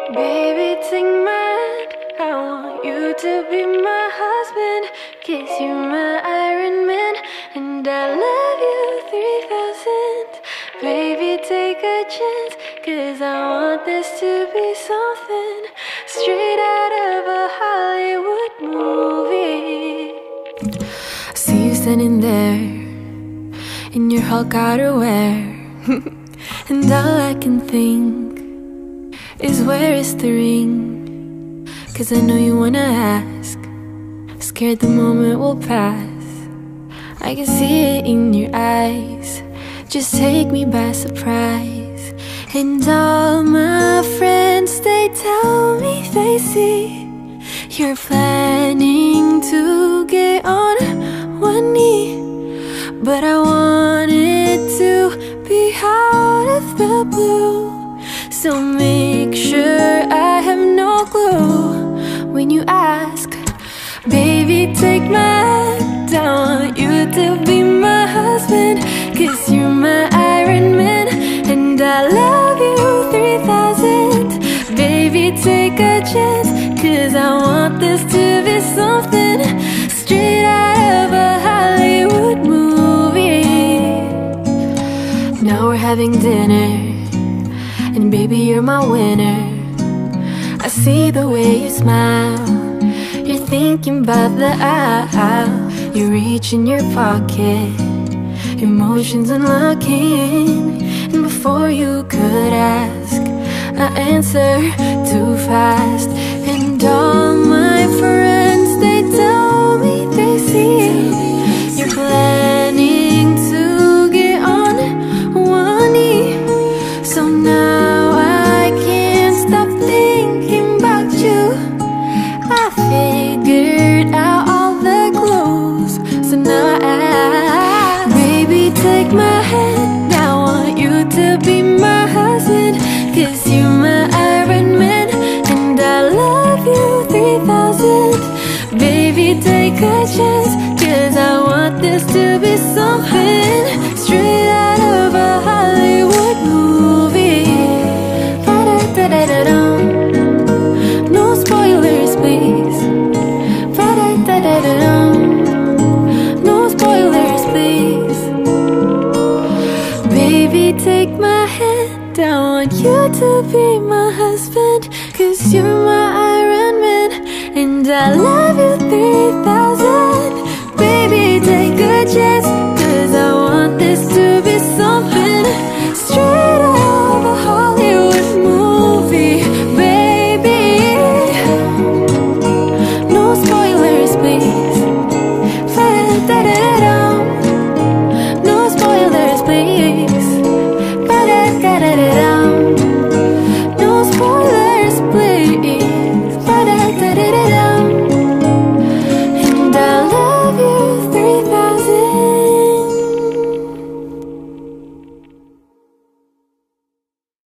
Baby, take my hand. I want you to be my husband. 'Cause you're my Iron Man, and I love you 3000. Baby, take a chance, 'cause I want this to be something straight out of a Hollywood movie. See you standing there in your Hulk outerwear, and all I can think is where is the ring? 'Cause I know you wanna ask, scared the moment will pass. I can see it in your eyes, just take me by surprise. And all my friends, they tell me they see you're planning to get on one knee. But I want it to be out of the blue, so make sure I have no clue when you ask. Baby, take my hand, I want you to be my husband. 'Cause you're my Iron Man, and I love you 3000. Baby, take a chance, 'cause I want this to be something straight out of a Hollywood movie. Now we're having dinner, and baby, you're my winner. I see the way you smile, you're thinking about the aisle. You reach in your pocket, emotions unlocking, and before you could ask, I answer too fast. And all my friends, they tell me they see you're planning to get on one knee. So now I can't stop thinking about you. I figured out all the clues, so now baby, take my hand, I want you to be my husband. 'Cause you're my Iron Man, and I love you 3000. Baby, take a chance, 'cause I want this to be something straight out of a Hollywood movie. Ba-da-da-da-da-dum. No spoilers, please. Ba-da-da-da-da-dum. No spoilers, please. Baby, take my hand, I want you to be my husband. 'Cause you're my Iron Man, and I love you 3000. Baby, take a chance,